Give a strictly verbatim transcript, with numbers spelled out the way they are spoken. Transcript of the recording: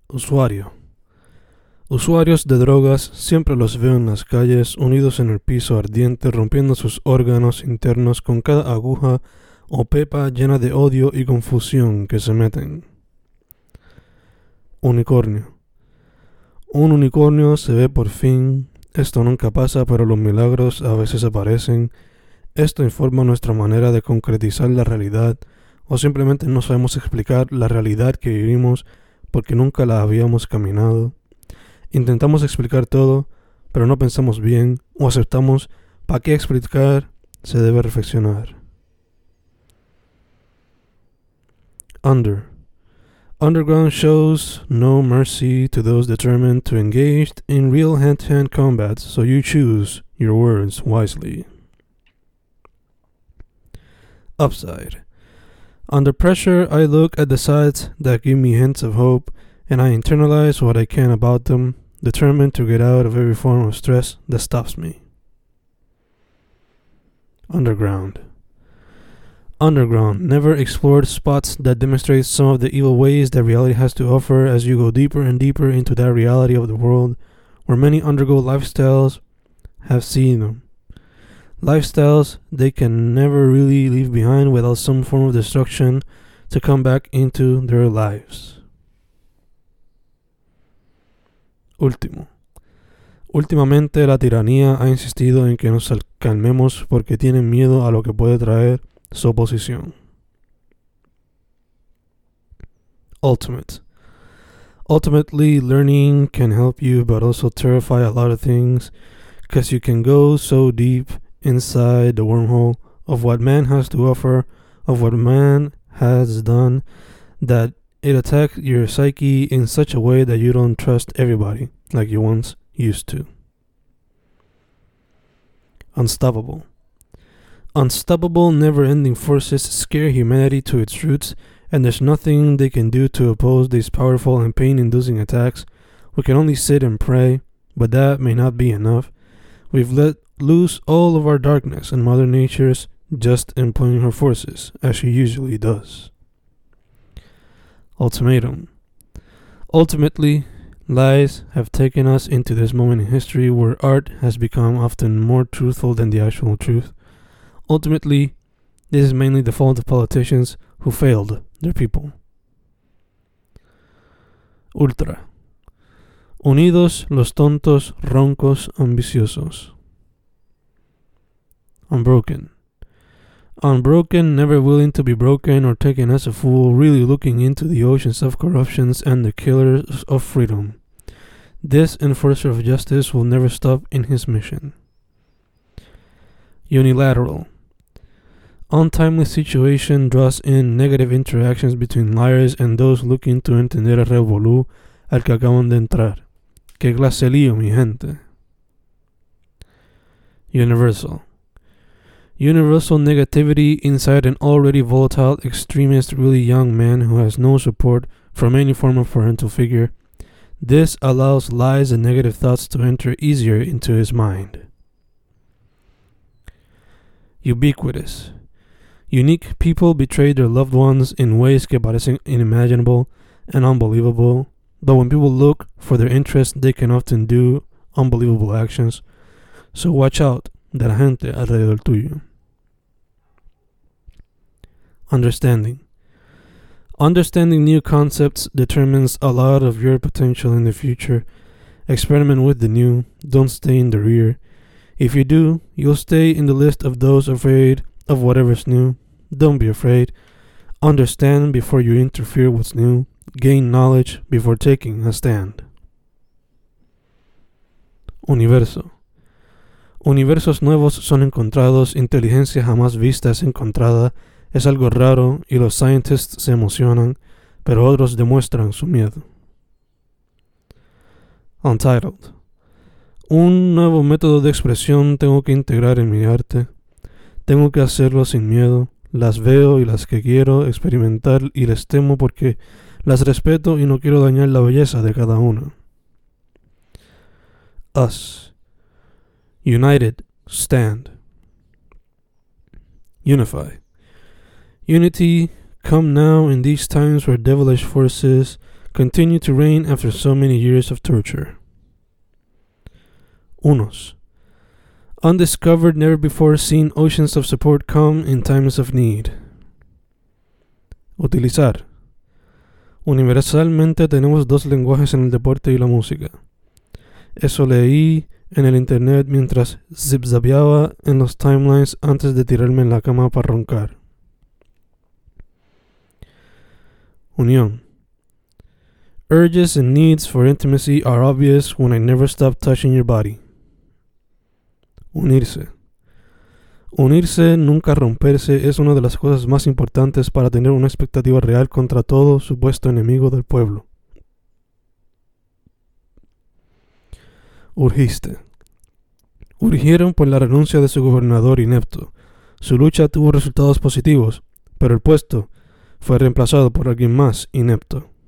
Usuario. Usuarios de drogas siempre los veo en las calles, unidos en el piso ardiente, rompiendo sus órganos internos con cada aguja o pepa llena de odio y confusión que se meten. Unicornio. Un unicornio se ve por fin. Esto nunca pasa, pero los milagros a veces aparecen. Esto informa nuestra manera de concretizar la realidad, o simplemente no sabemos explicar la realidad que vivimos porque nunca la habíamos caminado. Intentamos explicar todo, pero no pensamos bien o aceptamos para qué explicar, se debe reflexionar. Under. Underground shows no mercy to those determined to engage in real hand-to-hand combat, so you choose your words wisely. Upside. Under pressure, I look at the sides that give me hints of hope, and I internalize what I can about them, determined to get out of every form of stress that stops me. Underground. Underground. Never explored spots that demonstrate some of the evil ways that reality has to offer as you go deeper and deeper into that reality of the world, where many undergo lifestyles have seen them. Lifestyles they can never really leave behind without some form of destruction to come back into their lives. Último. Últimamente la tiranía ha insistido en que nos calmemos porque tienen miedo a lo que puede traer su oposición. Ultimate. Ultimately, learning can help you but also terrify a lot of things, because you can go so deep inside the wormhole of what man has to offer, of what man has done, that it attacks your psyche in such a way that you don't trust everybody like you once used to. Unstoppable. Unstoppable, never-ending forces scare humanity to its roots, and there's nothing they can do to oppose these powerful and pain-inducing attacks. We can only sit and pray, but that may not be enough. We've let loose all of our darkness, and Mother Nature's just employing her forces, as she usually does. Ultimatum. Ultimately, lies have taken us into this moment in history where art has become often more truthful than the actual truth. Ultimately, this is mainly the fault of politicians who failed their people. Ultra. Unidos los tontos, roncos, ambiciosos. Unbroken. Unbroken, never willing to be broken or taken as a fool, really looking into the oceans of corruptions and the killers of freedom. This enforcer of justice will never stop in his mission. Unilateral. Untimely situation draws in negative interactions between liars and those looking to entender el revolú al que acaban de entrar. ¡Qué clase lío, mi gente! Universal. Universal negativity inside an already volatile, extremist, really young man who has no support from any form of parental figure. This allows lies and negative thoughts to enter easier into his mind. Ubiquitous. Unique people betray their loved ones in ways que parecen unimaginable and unbelievable, though when people look for their interest, they can often do unbelievable actions. So watch out de la gente alrededor tuyo. Understanding. Understanding new concepts determines a lot of your potential in the future. Experiment with the new, don't stay in the rear. If you do, you'll stay in the list of those afraid of whatever's new. Don't be afraid. Understand before you interfere what's new. Gain knowledge before taking a stand. Universo. Universos nuevos son encontrados, inteligencia jamás vista es encontrada, es algo raro y los scientists se emocionan, pero otros demuestran su miedo. Untitled. Un nuevo método de expresión tengo que integrar en mi arte. Tengo que hacerlo sin miedo. Las veo y las que quiero experimentar y les temo porque las respeto y no quiero dañar la belleza de cada una. Us. United, stand. Unify. Unity, come now in these times where devilish forces continue to reign after so many years of torture. Unos. Undiscovered, never before seen oceans of support come in times of need. Utilizar. Universalmente tenemos dos lenguajes en el deporte y la música. Eso leí en el internet mientras zipzapeaba en los timelines antes de tirarme en la cama para roncar. Unión. Urges and needs for intimacy are obvious when I never stop touching your body. Unirse. Unirse, nunca romperse, es una de las cosas más importantes para tener una expectativa real contra todo supuesto enemigo del pueblo. Urgiste. Urgieron por la renuncia de su gobernador inepto. Su lucha tuvo resultados positivos, pero el puesto fue reemplazado por alguien más inepto.